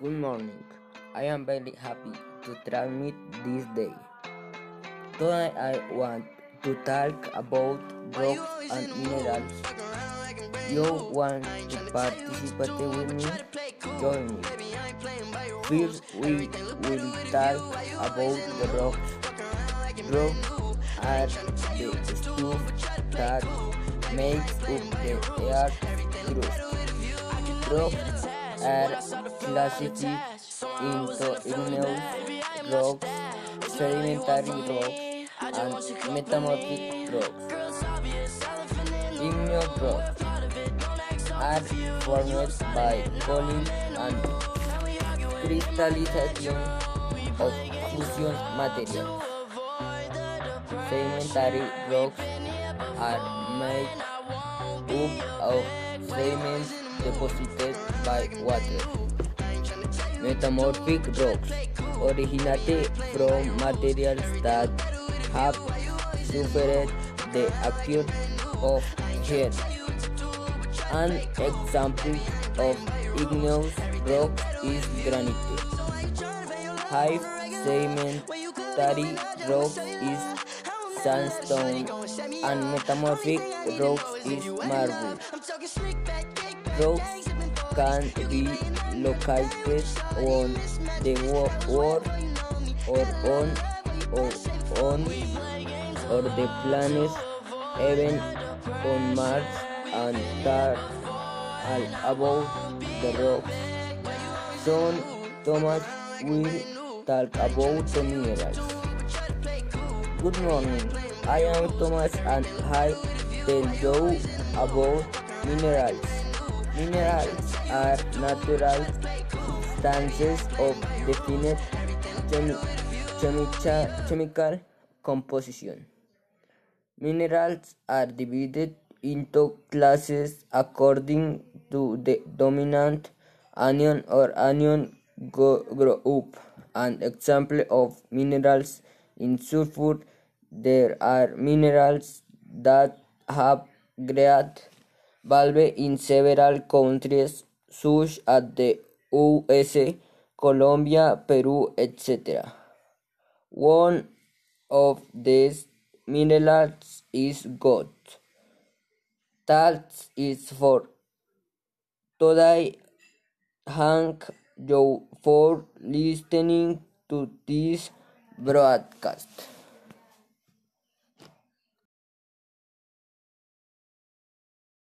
Good morning. I am very happy to transmit this day. Today I want to talk about rocks and minerals. You want to participate with me? Join me. First we will talk about the rocks. Rocks are the stuff that makes up the earth's crust. Rocks are classified into igneous rocks, sedimentary rocks, and metamorphic rocks. Igneous rocks are formed by cooling and crystallization of fusion materials. Sedimentary rocks are made up of sediments deposited by water. Metamorphic rocks originate from materials that have suffered the action of heat. An example of igneous rock is granite. High sedimentary rock is sandstone, and metamorphic rocks is marble. Rocks can be located on the earth or the planet, even on Mars, and that all about the rocks. Soon Thomas will talk about the minerals. Good morning, I am Thomas and I tell you about minerals. Minerals are natural substances of definite chemical composition. Minerals are divided into classes according to the dominant anion or anion group. An example of minerals in sulfur, there are minerals that have great value in several countries such as the USA, Colombia, Peru, etc. One of these minerals is gold. That is for today. Thank you for listening to this broadcast.